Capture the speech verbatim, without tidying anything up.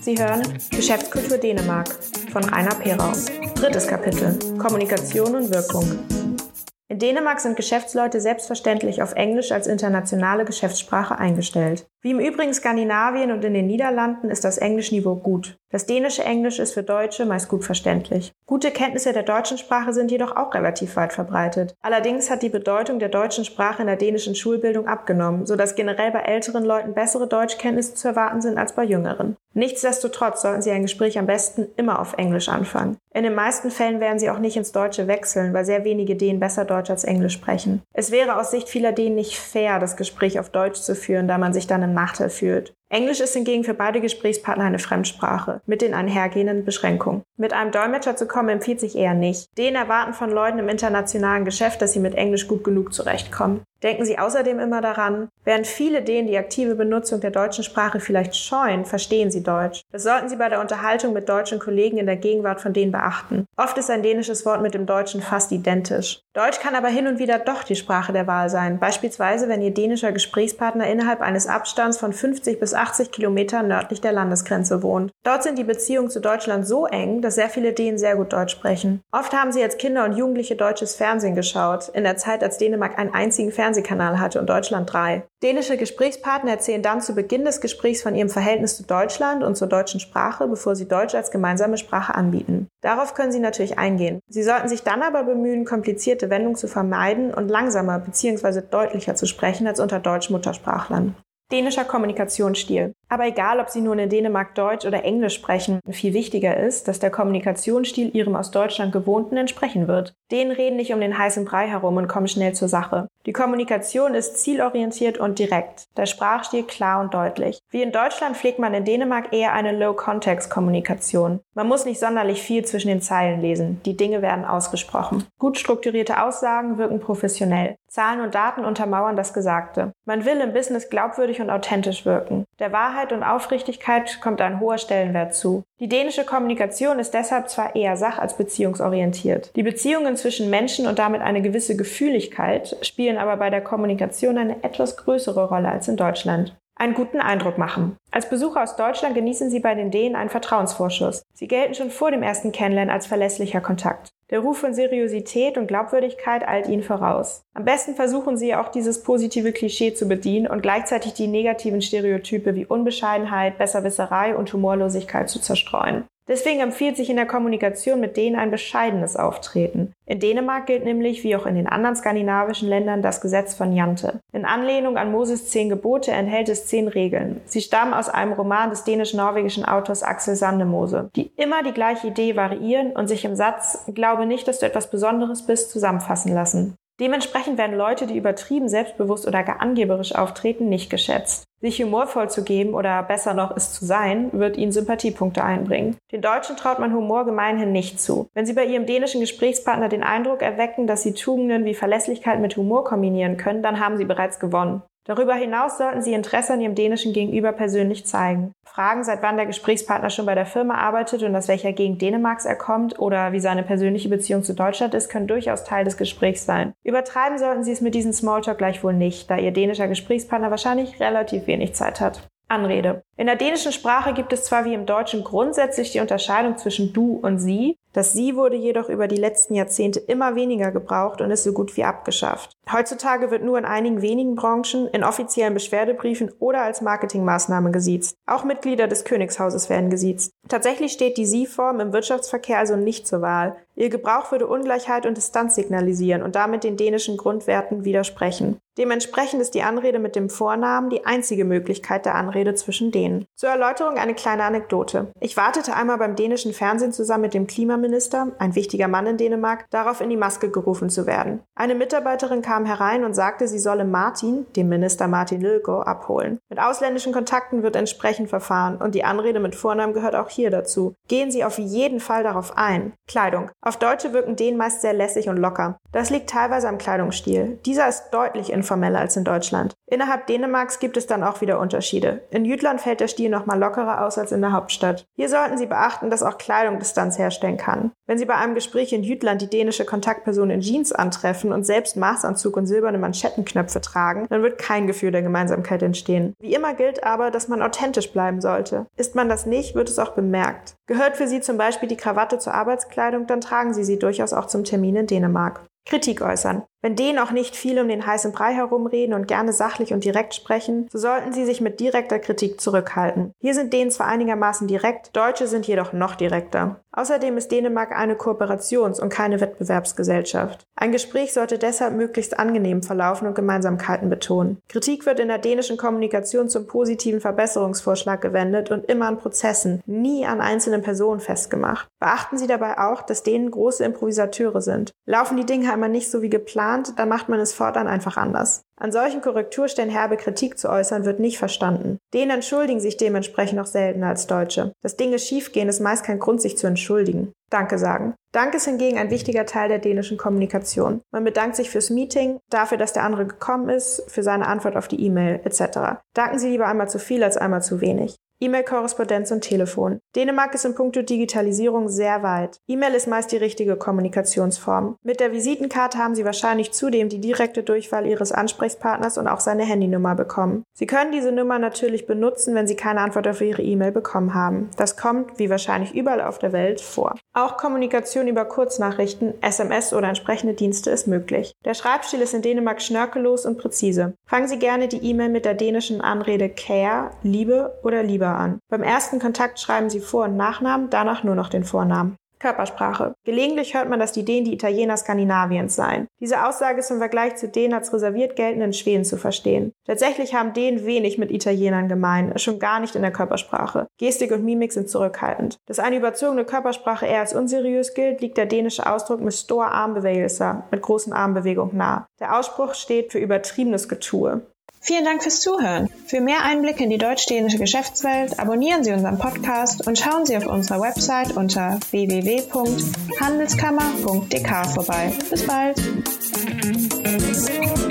Sie hören Geschäftskultur Dänemark von Rainer Perau. Drittes Kapitel: Kommunikation und Wirkung. In Dänemark sind Geschäftsleute selbstverständlich auf Englisch als internationale Geschäftssprache eingestellt. Wie im übrigen Skandinavien und in den Niederlanden ist das Englischniveau gut. Das dänische Englisch ist für Deutsche meist gut verständlich. Gute Kenntnisse der deutschen Sprache sind jedoch auch relativ weit verbreitet. Allerdings hat die Bedeutung der deutschen Sprache in der dänischen Schulbildung abgenommen, sodass generell bei älteren Leuten bessere Deutschkenntnisse zu erwarten sind als bei jüngeren. Nichtsdestotrotz sollten Sie ein Gespräch am besten immer auf Englisch anfangen. In den meisten Fällen werden Sie auch nicht ins Deutsche wechseln, weil sehr wenige Dänen besser Deutsch als Englisch sprechen. Es wäre aus Sicht vieler Dänen nicht fair, das Gespräch auf Deutsch zu führen, da man sich dann im Nachteil fühlt. Englisch ist hingegen für beide Gesprächspartner eine Fremdsprache, mit den einhergehenden Beschränkungen. Mit einem Dolmetscher zu kommen empfiehlt sich eher nicht. Dänen erwarten von Leuten im internationalen Geschäft, dass sie mit Englisch gut genug zurechtkommen. Denken Sie außerdem immer daran, während viele Dänen die aktive Benutzung der deutschen Sprache vielleicht scheuen, verstehen sie Deutsch. Das sollten Sie bei der Unterhaltung mit deutschen Kollegen in der Gegenwart von denen beachten. Oft ist ein dänisches Wort mit dem Deutschen fast identisch. Deutsch kann aber hin und wieder doch die Sprache der Wahl sein, beispielsweise wenn Ihr dänischer Gesprächspartner innerhalb eines Abstands von fünfzig bis achtzig Kilometern nördlich der Landesgrenze wohnt. Dort sind die Beziehungen zu Deutschland so eng, dass sehr viele Dänen sehr gut Deutsch sprechen. Oft haben sie als Kinder und Jugendliche deutsches Fernsehen geschaut, in der Zeit, als Dänemark einen einzigen Fernsehkanal hatte und Deutschland drei. Dänische Gesprächspartner erzählen dann zu Beginn des Gesprächs von ihrem Verhältnis zu Deutschland und zur deutschen Sprache, bevor sie Deutsch als gemeinsame Sprache anbieten. Darauf können Sie natürlich eingehen. Sie sollten sich dann aber bemühen, komplizierte Wendungen zu vermeiden und langsamer bzw. deutlicher zu sprechen als unter Deutsch-Muttersprachlern. Dänischer Kommunikationsstil. Aber egal, ob Sie nun in Dänemark Deutsch oder Englisch sprechen, viel wichtiger ist, dass der Kommunikationsstil Ihrem aus Deutschland Gewohnten entsprechen wird. Dänen reden nicht um den heißen Brei herum und kommen schnell zur Sache. Die Kommunikation ist zielorientiert und direkt, der Sprachstil klar und deutlich. Wie in Deutschland pflegt man in Dänemark eher eine Low-Context-Kommunikation. Man muss nicht sonderlich viel zwischen den Zeilen lesen, die Dinge werden ausgesprochen. Gut strukturierte Aussagen wirken professionell. Zahlen und Daten untermauern das Gesagte. Man will im Business glaubwürdig und authentisch wirken. Der Wahrheit und Aufrichtigkeit kommt ein hoher Stellenwert zu. Die dänische Kommunikation ist deshalb zwar eher sach- als beziehungsorientiert. Die Beziehungen zwischen Menschen und damit eine gewisse Gefühligkeit spielen aber bei der Kommunikation eine etwas größere Rolle als in Deutschland. Einen guten Eindruck machen. Als Besucher aus Deutschland genießen Sie bei den Dänen einen Vertrauensvorschuss. Sie gelten schon vor dem ersten Kennenlernen als verlässlicher Kontakt. Der Ruf von Seriosität und Glaubwürdigkeit eilt Ihnen voraus. Am besten versuchen Sie auch dieses positive Klischee zu bedienen und gleichzeitig die negativen Stereotype wie Unbescheidenheit, Besserwisserei und Humorlosigkeit zu zerstreuen. Deswegen empfiehlt sich in der Kommunikation mit denen ein bescheidenes Auftreten. In Dänemark gilt nämlich, wie auch in den anderen skandinavischen Ländern, das Gesetz von Jante. In Anlehnung an Moses zehn Gebote enthält es zehn Regeln. Sie stammen aus einem Roman des dänisch-norwegischen Autors Axel Sandemose, die immer die gleiche Idee variieren und sich im Satz „Glaube nicht, dass du etwas Besonderes bist" zusammenfassen lassen. Dementsprechend werden Leute, die übertrieben selbstbewusst oder gar angeberisch auftreten, nicht geschätzt. Sich humorvoll zu geben oder besser noch es zu sein, wird ihnen Sympathiepunkte einbringen. Den Deutschen traut man Humor gemeinhin nicht zu. Wenn sie bei ihrem dänischen Gesprächspartner den Eindruck erwecken, dass sie Tugenden wie Verlässlichkeit mit Humor kombinieren können, dann haben sie bereits gewonnen. Darüber hinaus sollten Sie Interesse an Ihrem dänischen Gegenüber persönlich zeigen. Fragen, seit wann der Gesprächspartner schon bei der Firma arbeitet und aus welcher Gegend Dänemarks er kommt oder wie seine persönliche Beziehung zu Deutschland ist, können durchaus Teil des Gesprächs sein. Übertreiben sollten Sie es mit diesem Smalltalk gleichwohl nicht, da Ihr dänischer Gesprächspartner wahrscheinlich relativ wenig Zeit hat. Anrede. In der dänischen Sprache gibt es zwar wie im Deutschen grundsätzlich die Unterscheidung zwischen du und sie, das sie wurde jedoch über die letzten Jahrzehnte immer weniger gebraucht und ist so gut wie abgeschafft. Heutzutage wird nur in einigen wenigen Branchen, in offiziellen Beschwerdebriefen oder als Marketingmaßnahme gesiezt. Auch Mitglieder des Königshauses werden gesiezt. Tatsächlich steht die Sie-Form im Wirtschaftsverkehr also nicht zur Wahl. Ihr Gebrauch würde Ungleichheit und Distanz signalisieren und damit den dänischen Grundwerten widersprechen. Dementsprechend ist die Anrede mit dem Vornamen die einzige Möglichkeit der Anrede zwischen Dänen. Zur Erläuterung eine kleine Anekdote. Ich wartete einmal beim dänischen Fernsehen zusammen mit dem Klimaminister, ein wichtiger Mann in Dänemark, darauf in die Maske gerufen zu werden. Eine Mitarbeiterin kam herein und sagte, sie solle Martin, dem Minister Martin Lidegaard, abholen. Mit ausländischen Kontakten wird entsprechend verfahren und die Anrede mit Vornamen gehört auch hier dazu. Gehen Sie auf jeden Fall darauf ein. Kleidung. Auf Auf Deutsche wirken Dänen meist sehr lässig und locker. Das liegt teilweise am Kleidungsstil. Dieser ist deutlich informeller als in Deutschland. Innerhalb Dänemarks gibt es dann auch wieder Unterschiede. In Jütland fällt der Stil noch mal lockerer aus als in der Hauptstadt. Hier sollten Sie beachten, dass auch Kleidung Distanz herstellen kann. Wenn Sie bei einem Gespräch in Jütland die dänische Kontaktperson in Jeans antreffen und selbst Maßanzug und silberne Manschettenknöpfe tragen, dann wird kein Gefühl der Gemeinsamkeit entstehen. Wie immer gilt aber, dass man authentisch bleiben sollte. Ist man das nicht, wird es auch bemerkt. Gehört für Sie zum Beispiel die Krawatte zur Arbeitskleidung, dann tragen Sie sie durchaus auch zum Termin in Dänemark. Kritik äußern. Wenn Dänen auch nicht viel um den heißen Brei herumreden und gerne sachlich und direkt sprechen, so sollten sie sich mit direkter Kritik zurückhalten. Hier sind Dänen zwar einigermaßen direkt, Deutsche sind jedoch noch direkter. Außerdem ist Dänemark eine Kooperations- und keine Wettbewerbsgesellschaft. Ein Gespräch sollte deshalb möglichst angenehm verlaufen und Gemeinsamkeiten betonen. Kritik wird in der dänischen Kommunikation zum positiven Verbesserungsvorschlag gewendet und immer an Prozessen, nie an einzelnen Personen festgemacht. Beachten Sie dabei auch, dass Dänen große Improvisateure sind. Laufen die Dinge einmal nicht so wie geplant, dann macht man es fortan einfach anders. An solchen Korrekturstellen herbe Kritik zu äußern, wird nicht verstanden. Dänen entschuldigen sich dementsprechend noch seltener als Deutsche. Dass Dinge schiefgehen, ist meist kein Grund, sich zu entschuldigen. Danke sagen. Dank ist hingegen ein wichtiger Teil der dänischen Kommunikation. Man bedankt sich fürs Meeting, dafür, dass der andere gekommen ist, für seine Antwort auf die E-Mail et cetera. Danken Sie lieber einmal zu viel als einmal zu wenig. E-Mail-Korrespondenz und Telefon. Dänemark ist in puncto Digitalisierung sehr weit. E-Mail ist meist die richtige Kommunikationsform. Mit der Visitenkarte haben Sie wahrscheinlich zudem die direkte Durchwahl Ihres Ansprechpartners und auch seine Handynummer bekommen. Sie können diese Nummer natürlich benutzen, wenn Sie keine Antwort auf Ihre E-Mail bekommen haben. Das kommt, wie wahrscheinlich überall auf der Welt, vor. Auch Kommunikation über Kurznachrichten, S M S oder entsprechende Dienste ist möglich. Der Schreibstil ist in Dänemark schnörkellos und präzise. Fangen Sie gerne die E-Mail mit der dänischen Anrede Kære, Liebe oder Lieber an. Beim ersten Kontakt schreiben Sie Vor- und Nachnamen, danach nur noch den Vornamen. Körpersprache. Gelegentlich hört man, dass die Dänen die Italiener Skandinaviens seien. Diese Aussage ist im Vergleich zu Dänen als reserviert geltenden Schweden zu verstehen. Tatsächlich haben Dänen wenig mit Italienern gemein, schon gar nicht in der Körpersprache. Gestik und Mimik sind zurückhaltend. Dass eine überzogene Körpersprache eher als unseriös gilt, liegt der dänische Ausdruck mit stor armbevægelser, mit großen Armbewegungen nahe. Der Ausspruch steht für übertriebenes Getue. Vielen Dank fürs Zuhören. Für mehr Einblicke in die deutsch-dänische Geschäftswelt abonnieren Sie unseren Podcast und schauen Sie auf unserer Website unter w w w punkt handelskammer punkt d k vorbei. Bis bald!